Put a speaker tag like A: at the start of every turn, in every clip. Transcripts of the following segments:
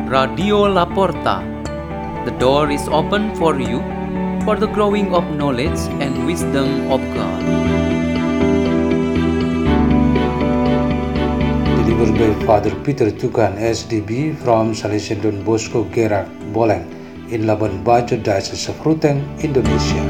A: Radio Laporta. The door is open for you for the growing of knowledge and wisdom of God.
B: Delivered by Father Peter Tukan, SDB, from Salesian Don Bosco Gerak, Boleng, in Labuan Bajo, Diocese of Ruteng, Indonesia.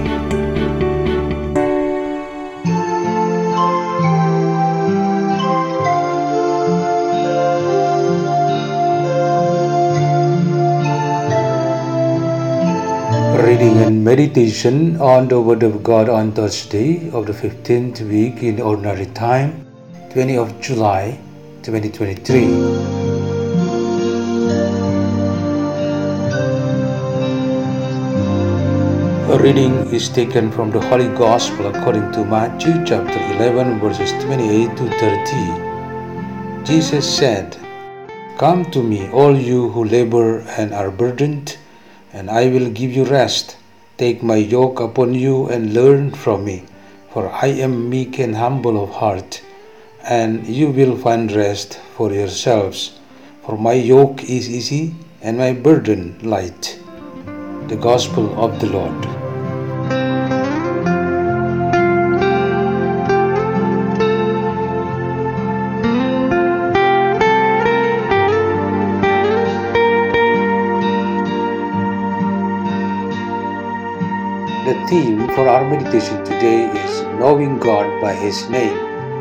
B: Reading and meditation on the Word of God on Thursday of the 15th week in Ordinary Time, 20th of July, 2023. A reading is taken from the Holy Gospel according to Matthew chapter 11 verses 28 to 30. Jesus said, "Come to me, all you who labor and are burdened, and I will give you rest. Take my yoke upon you and learn from me, for I am meek and humble of heart, and you will find rest for yourselves. For my yoke is easy and my burden light." The Gospel of the Lord. The theme for our meditation today is knowing God by His name.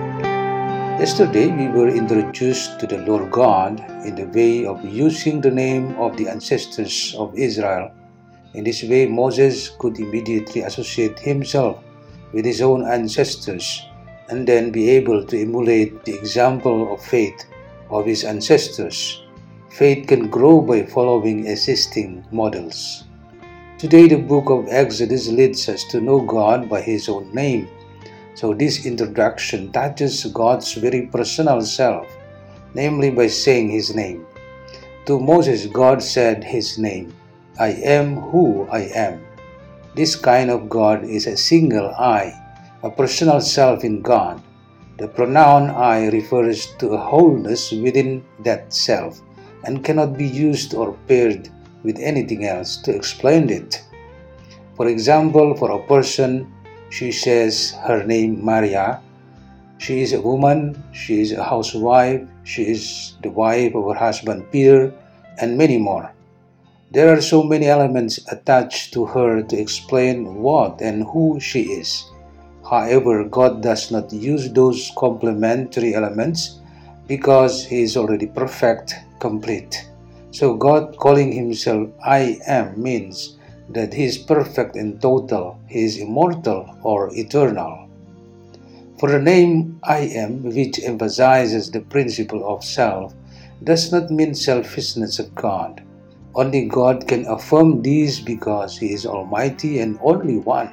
B: Yesterday we were introduced to the Lord God in the way of using the name of the ancestors of Israel. In this way, Moses could immediately associate himself with his own ancestors and then be able to emulate the example of faith of his ancestors. Faith can grow by following existing models. Today, the book of Exodus leads us to know God by His own name. So this introduction touches God's very personal self, namely by saying His name. To Moses, God said His name, "I am who I am." This kind of God is a single I, a personal self in God. The pronoun I refers to a wholeness within that self and cannot be used or paired with anything else to explain it. For example, for a person, she says her name Maria. She is a woman, she is a housewife, she is the wife of her husband Peter, and many more. There are so many elements attached to her to explain what and who she is. However, God does not use those complementary elements because He is already perfect, complete. So God calling Himself I am means that He is perfect and total, He is immortal or eternal. For the name I am, which emphasizes the principle of self, does not mean selfishness of God. Only God can affirm this because He is Almighty and only one.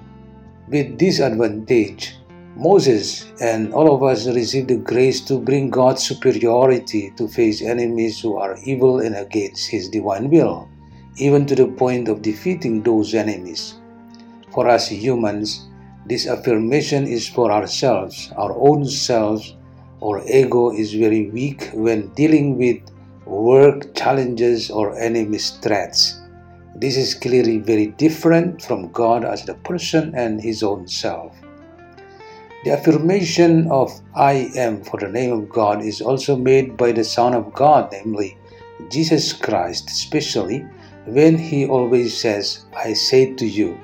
B: With this advantage, Moses and all of us receive the grace to bring God's superiority to face enemies who are evil and against His divine will, even to the point of defeating those enemies. For us humans, this affirmation is for ourselves, our own selves. Our ego is very weak when dealing with work challenges or enemy threats. This is clearly very different from God as the person and His own self. The affirmation of I am for the name of God is also made by the Son of God, namely Jesus Christ, especially when He always says, "I say to you."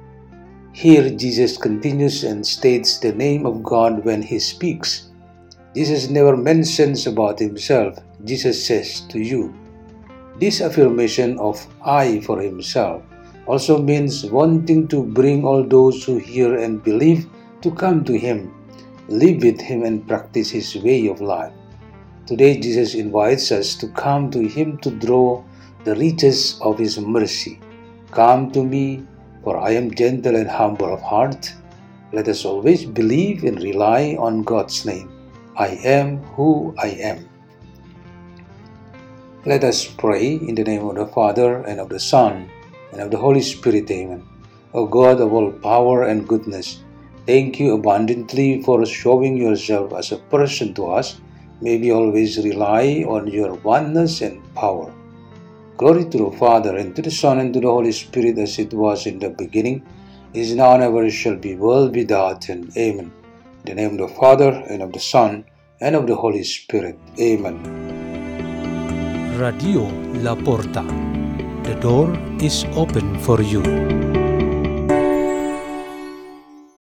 B: Here Jesus continues and states the name of God when He speaks. Jesus never mentions about Himself. Jesus says to you. This affirmation of I for Himself also means wanting to bring all those who hear and believe to come to Him, live with Him and practice His way of life. Today Jesus invites us to come to Him to draw the riches of His mercy. "Come to me, for I am gentle and humble of heart." Let us always believe and rely on God's name. I am who I am. Let us pray in the name of the Father, and of the Son, and of the Holy Spirit. Amen. O God of all power and goodness, thank you abundantly for showing yourself as a person to us. May we always rely on your oneness and power. Glory to the Father, and to the Son, and to the Holy Spirit, as it was in the beginning, is now, and ever shall be, world without end. Amen. In the name of the Father, and of the Son, and of the Holy Spirit. Amen.
C: Radio La Porta. The door is open for you.